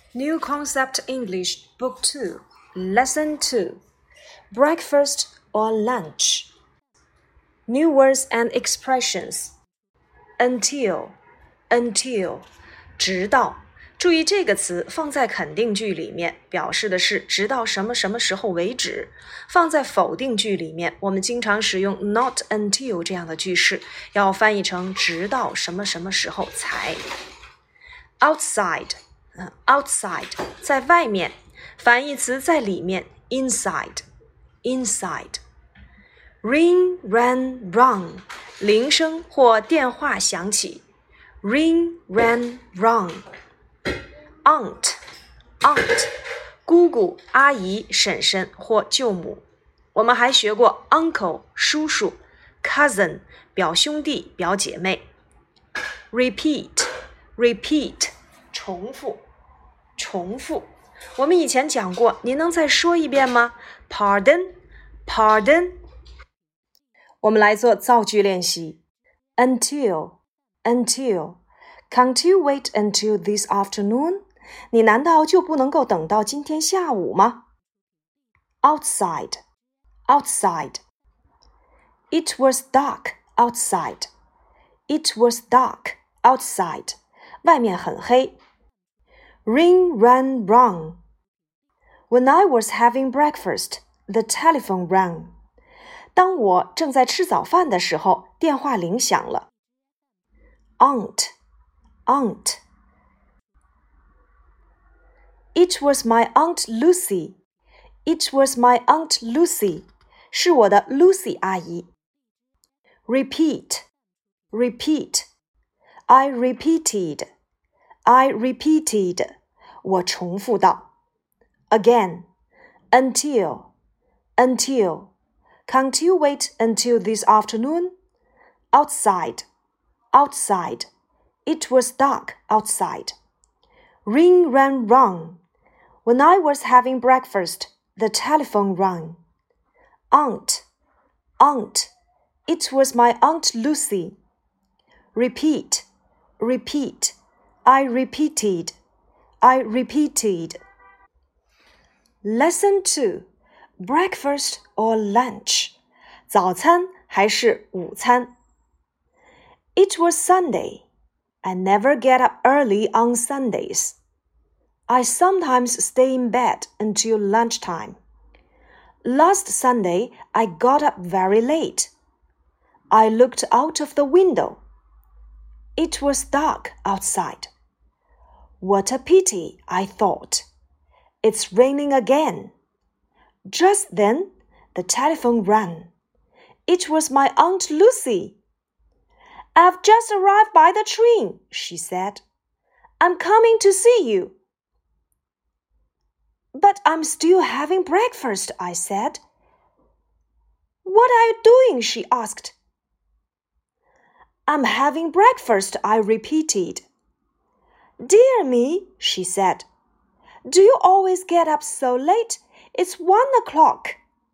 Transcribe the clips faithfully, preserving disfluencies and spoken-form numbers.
New Concept English Book two, Lesson two, Breakfast or Lunch. New words and expressions. Until, until, 直到。注意这个词放在肯定句里面，表示的是直到什么什么时候为止。放在否定句里面，我们经常使用 not until 这样的句式，要翻译成直到什么什么时候才。Outside, outside 在外面，反义词在里面 inside, inside. Ring, rang, rung 铃声或电话响起 Ring, rang, rung.Aunt, aunt, 姑姑、阿姨、婶婶或舅母。我们还学过 uncle, 叔叔 cousin, 表兄弟、表姐妹。Repeat, repeat, 重复，重复。我们以前讲过，您能再说一遍吗？ Pardon, pardon. 我们来做造句练习。Until, until. Can't you wait until this afternoon?你难道就不能够等到今天下午吗？ Outside, outside. It was dark outside. It was dark outside. 外面很黑。Ring, rang, rung. When I was having breakfast, the telephone rang. 当我正在吃早饭的时候，电话铃响了。Aunt, aunt.It was my Aunt Lucy. It was my Aunt Lucy. 是我的 Lucy 阿姨。Repeat, repeat. I repeated. I repeated. 我重复道。Again, until, until. Can't you wait until this afternoon? Outside, outside. It was dark outside. Ring, rang, rung.When I was having breakfast, the telephone rang. Aunt, aunt, it was my Aunt Lucy. Repeat, repeat, I repeated, I repeated. Lesson two, breakfast or lunch. 早餐还是午餐？ It was Sunday. I never get up early on Sundays.I sometimes stay in bed until lunchtime. Last Sunday, I got up very late. I looked out of the window. It was dark outside. What a pity, I thought. It's raining again. Just then, the telephone rang. It was my Aunt Lucy. I've just arrived by the train, she said. I'm coming to see you.But I'm still having breakfast, I said. What are you doing? She asked. I'm having breakfast, I repeated. Dear me, she said. Do you always get up so late? It's one o'clock.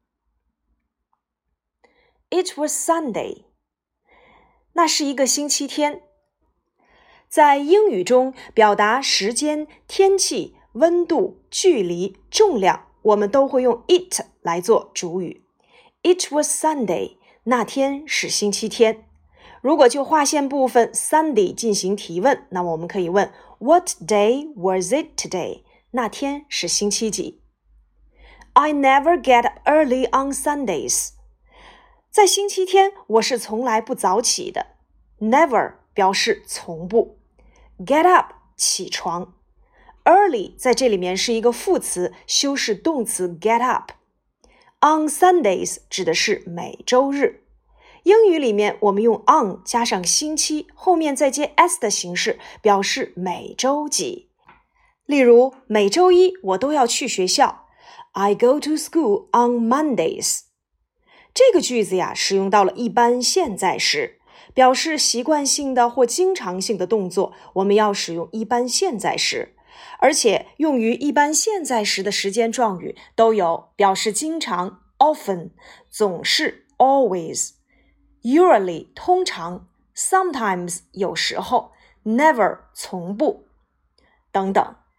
It was Sunday. 那是一个星期天。在英语中，表达时间、天气、温度、距离、重量，我们都会用 it 来做主语。It was Sunday. 那天是星期天。如果就划线部分 Sunday 进行提问，那么我们可以问 What day was it today? 那天是星期几？ I never get up early on Sundays. 在星期天，我是从来不早起的。Never 表示从不。Get up 起床。Early 在这里面是一个副词，修饰动词 get up. On Sundays 指的是每周日。英语里面我们用 on 加上星期，后面再接 s 的形式，表示每周几。例如，每周一我都要去学校。I go to school on Mondays. 这个句子呀，使用到了一般现在时，表示习惯性的或经常性的动作，我们要使用一般现在时。而且用于一般现在时的时间状语都有表示经常 often, 总是 always, usually 通常 sometimes 有时候 never 从不等等。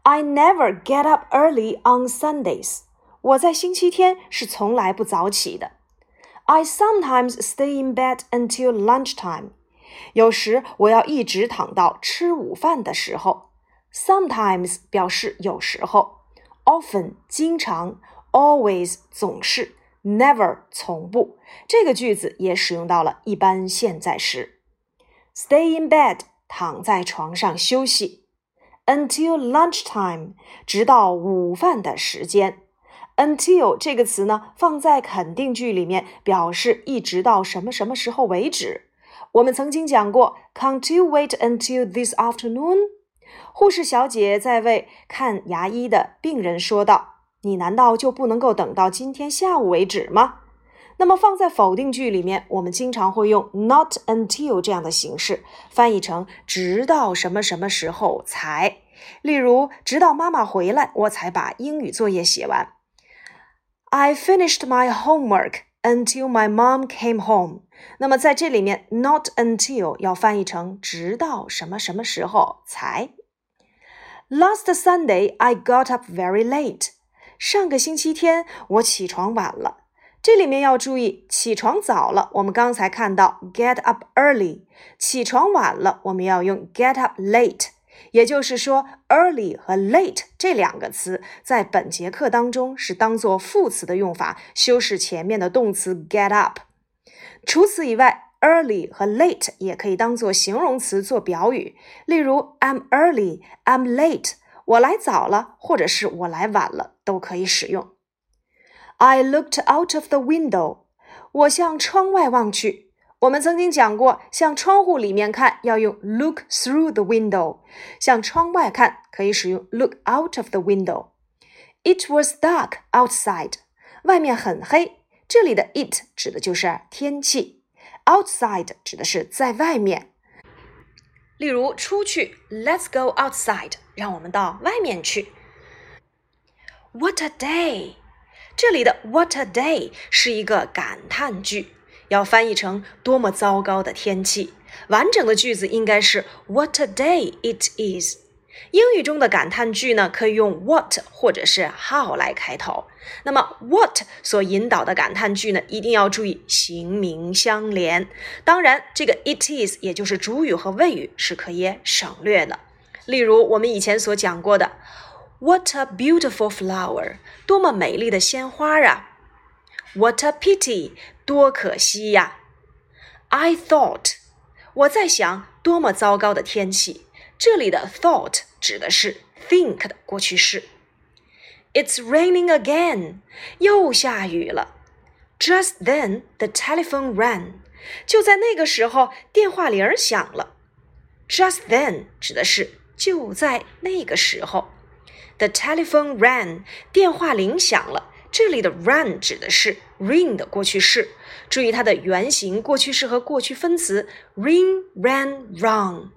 I never get up early on Sundays. 我在星期天是从来不早起的。I sometimes stay in bed until lunchtime. 有时我要一直躺到吃午饭的时候。Sometimes 表示有时候。Often 经常。Always 总是。Never 从不。这个句子也使用到了一般现在时。Stay in bed 躺在床上休息。Until lunchtime 直到午饭的时间。Until 这个词呢，放在肯定句里面，表示一直到什么什么时候为止。我们曾经讲过 Can't you wait until this afternoon? 护士小姐在为看牙医的病人说道，你难道就不能够等到今天下午为止吗？那么放在否定句里面，我们经常会用 not until 这样的形式，翻译成直到什么什么时候才。例如，直到妈妈回来，我才把英语作业写完。I finished my homework until my mom came home. 那么在这里面 not until 要翻译成直到什么什么时候才。Last Sunday, I got up very late. 上个星期天我起床晚了。这里面要注意起床早了，我们刚才看到 get up early， 起床晚了我们要用 get up late。也就是说 early 和 late 这两个词在本节课当中是当作副词的用法，修饰前面的动词 get up。 除此以外 early 和 late 也可以当作形容词做表语，例如 I'm early, I'm late， 我来早了或者是我来晚了都可以使用。 I looked out of the window， 我向窗外望去。我们曾经讲过，向窗户里面看要用 look through the window， 向窗外看可以使用 look out of the window。 It was dark outside， 外面很黑，这里的 it 指的就是天气， outside 指的是在外面。例如出去 Let's go outside， 让我们到外面去。 What a day， 这里的 what a day 是一个感叹句，要翻译成多么糟糕的天气。完整的句子应该是 What a day it is。 英语中的感叹句呢，可以用 what 或者是 how 来开头。那么 what 所引导的感叹句呢，一定要注意形名相连。当然这个 it is 也就是主语和谓语是可以省略的。例如我们以前所讲过的 What a beautiful flower， 多么美丽的鲜花啊。What a pity， 多可惜呀。I thought， 我在想多么糟糕的天气。这里的 thought 指的是 think 的过去式。It's raining again， 又下雨了。Just then the telephone rang， 就在那个时候电话铃响了。Just then 指的是就在那个时候。The telephone rang， 电话铃响了。这里的 rang 指的是 ring 的过去式，注意它的原形、过去式和过去分词 ring, ran, rung。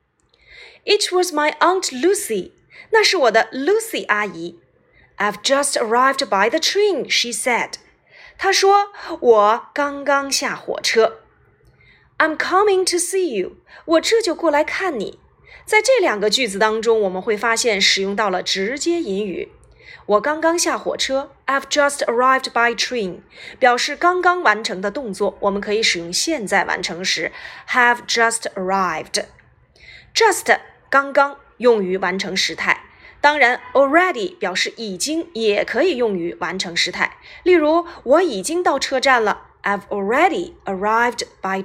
It was my Aunt Lucy， 那是我的 Lucy 阿姨。 I've just arrived by the train, she said。 她说我刚刚下火车。 I'm coming to see you， 我这就过来看你。在这两个句子当中，我们会发现使用到了直接引语。我刚刚下火车 I've just arrived by train， 表示刚刚完成的动作，我们可以使用现在完成时 have just arrived。 Just 刚刚用于完成时态，当然 already 表示已经也可以用于完成时态。例如我已经到车站了 I've already arrived by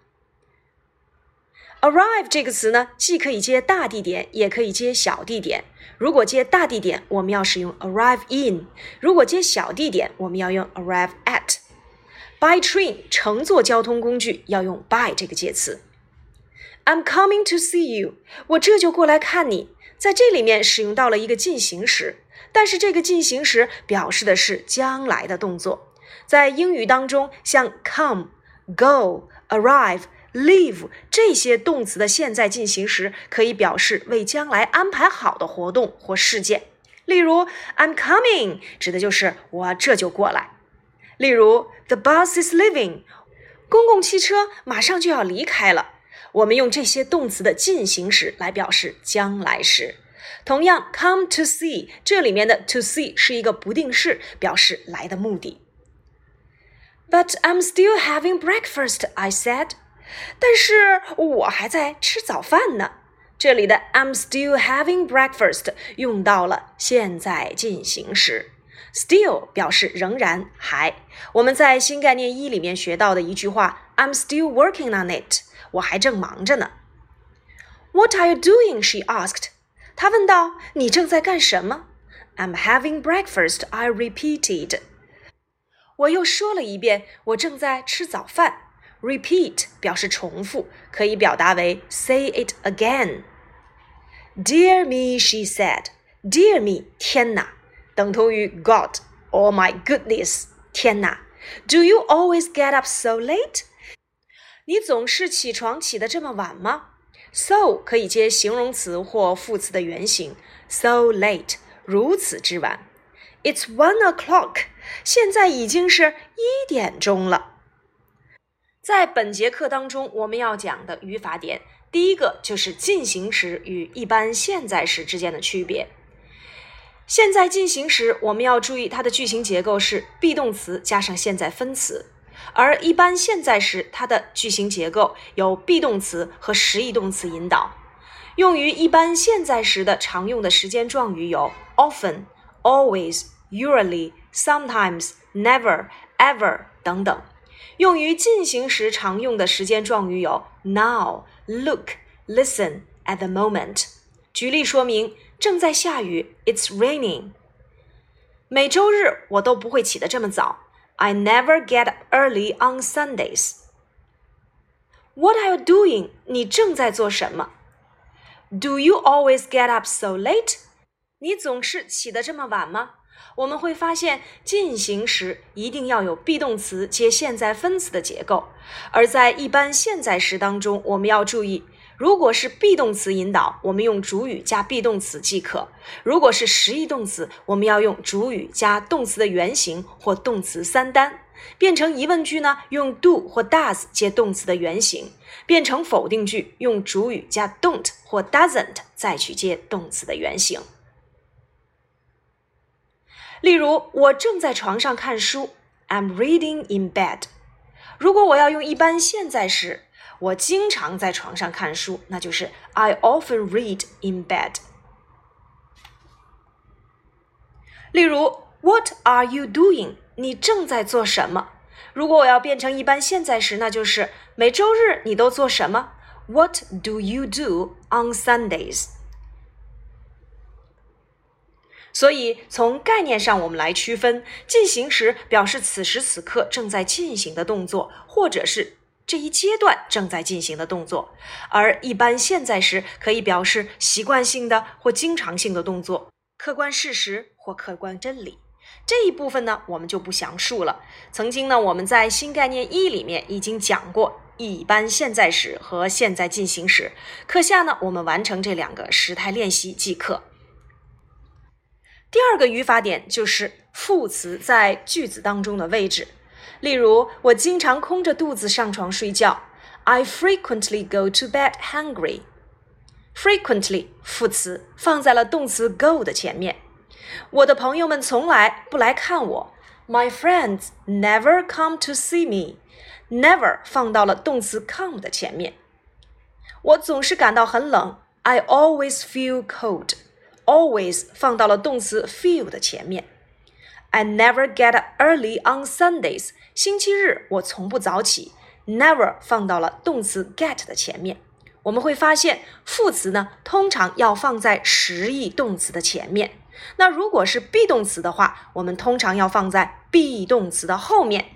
train。Arrive 这个词呢，既可以接大地点，也可以接小地点。如果接大地点，我们要使用 arrive in； 如果接小地点，我们要用 arrive at。 By train 乘坐交通工具要用 by 这个介词。 I'm coming to see you， 我这就过来看你。在这里面使用到了一个进行时，但是这个进行时表示的是将来的动作。在英语当中，像 come、go、arrive、leave 这些动词的现在进行时可以表示为将来安排好的活动或事件。例如 I'm coming 指的就是我这就过来。例如 The bus is leaving， 公共汽车马上就要离开了。我们用这些动词的进行时来表示将来时。 同样 come to see 这里面的 to see 是一个不定式，表示来的目的。But I'm still having breakfast, I said. 但是我还在吃早饭呢。这里的 I'm still having breakfast 用到了现在进行时。Still 表示仍然还。我们在新概念一里面学到的一句话 I'm still working on it. 我还正忙着呢。What are you doing? She asked. 她问道，你正在干什么？ I'm having breakfast, I repeated. 我又说了一遍，我正在吃早饭。Repeat 表示重复，可以表达为 say it again. Dear me, she said. Dear me, 天哪，等同于 God, oh my goodness, 天哪。Do you always get up so late? 你总是起床起得这么晚吗？ So 可以接形容词或副词的原形 so late 如此之晚。 It's one o'clock 现在已经是一点钟了。在本节课当中我们要讲的语法点，第一个就是进行时与一般现在时之间的区别。现在进行时我们要注意它的句型结构是 be 动词加上现在分词，而一般现在时它的句型结构有 be 动词和实义动词引导。用于一般现在时的常用的时间状语有 often, always, usually, sometimes, never, ever 等等。用于进行时常用的时间状语有 now, look, listen, at the moment。 举例说明，正在下雨 It's raining。 每周日我都不会起得这么早 I never get up early on Sundays。 What are you doing? 你正在做什么？ Do you always get up so late? 你总是起得这么晚吗？我们会发现进行时一定要有 be 动词接现在分词的结构，而在一般现在时当中我们要注意，如果是 be 动词引导，我们用主语加 be 动词即可；如果是实义动词，我们要用主语加动词的原形或动词三单。变成疑问句呢，用 do 或 does 接动词的原形；变成否定句，用主语加 don't 或 doesn't 再去接动词的原形。例如，我正在床上看书 I'm reading in bed。 如果我要用一般现在时，我经常在床上看书，那就是 I often read in bed。 例如 What are you doing? 你正在做什么？如果我要变成一般现在时，那就是每周日你都做什么？ What do you do on Sundays？所以从概念上我们来区分，进行时表示此时此刻正在进行的动作，或者是这一阶段正在进行的动作，而一般现在时可以表示习惯性的或经常性的动作，客观事实或客观真理。这一部分呢我们就不详述了。曾经呢我们在新概念一里面已经讲过一般现在时和现在进行时，课下呢我们完成这两个时态练习即可。第二个语法点就是副词在句子当中的位置。例如，我经常空着肚子上床睡觉 I frequently go to bed hungry。 Frequently 副词放在了动词 go 的前面。我的朋友们从来不来看我 My friends never come to see me。 Never 放到了动词 come 的前面。我总是感到很冷 I always feel cold。Always 放到了动词 feel 的前面。 I never get up early on Sundays。 星期日我从不早起 Never 放到了动词 get 的前面。我们会发现副词呢通常要放在实义动词的前面，那如果是 be 动词的话，我们通常要放在 be 动词的后面。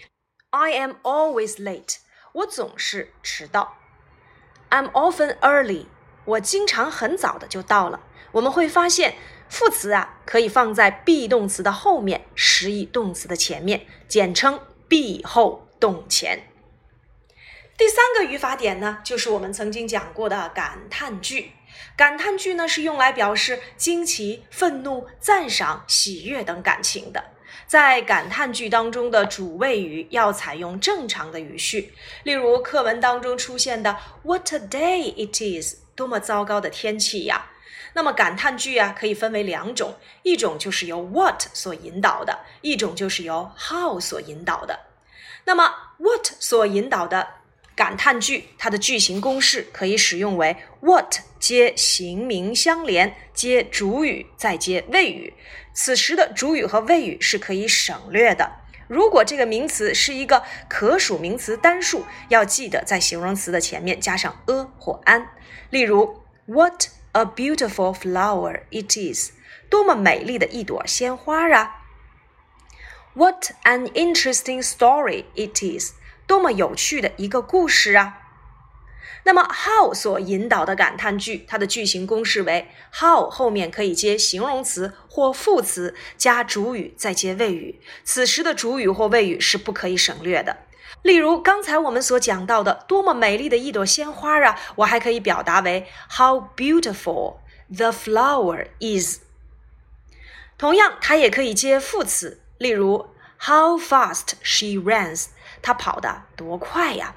I am always late。 我总是迟到。 I'm often early。 我经常很早的就到了。我们会发现副词啊可以放在 be 动词的后面，实义动词的前面，简称 be 后动前。第三个语法点呢就是我们曾经讲过的感叹句。感叹句呢是用来表示惊奇、愤怒、赞赏、喜悦等感情的。在感叹句当中的主谓语要采用正常的语序，例如课文当中出现的 What a day it is， 多么糟糕的天气呀。 那么感叹句啊，可以分为两种，一种就是由 what 所引导的，一种就是由 how 所引导的。那么 what 所引导的感叹句，它的句型公式可以使用为 what 接形名相连，接主语，再接谓语。此时的主语和谓语是可以省略的。如果这个名词是一个可数名词单数，要记得在形容词的前面加上 a 或 an。例如 What a beautiful flower it is， 多么美丽的一朵鲜花啊。What an interesting story it is， 多么有趣的一个故事啊。那么 how 所引导的感叹句，它的句型公式为 how 后面可以接形容词或副词，加主语，再接谓语。此时的主语或谓语是不可以省略的。例如刚才我们所讲到的多么美丽的一朵鲜花啊，我还可以表达为 How beautiful the flower is。 同样它也可以接副词，例如 How fast she runs， 她跑得多快呀。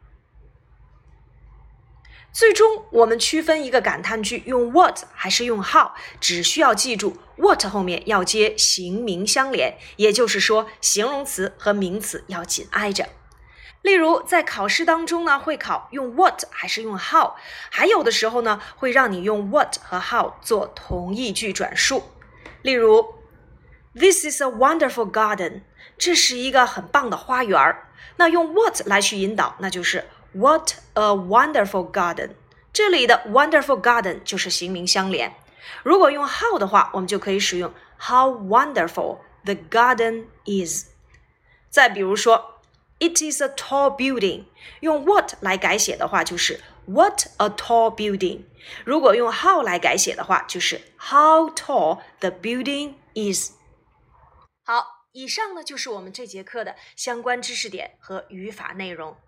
最终我们区分一个感叹句用 what 还是用 how， 只需要记住 what 后面要接形名相连，也就是说形容词和名词要紧挨着。例如在考试当中呢，会考用 what 还是用 how， 还有的时候呢，会让你用 what 和 how 做同义句转述。例如 This is a wonderful garden， 这是一个很棒的花园。那用 what 来去引导，那就是What a wonderful garden， 这里的 wonderful garden 就是形名相连。如果用 how 的话，我们就可以使用 How wonderful the garden is。 再比如说 It is a tall building， 用 what 来改写的话就是 What a tall building。 如果用 how 来改写的话就是 How tall the building is。 好，以上呢就是我们这节课的相关知识点和语法内容。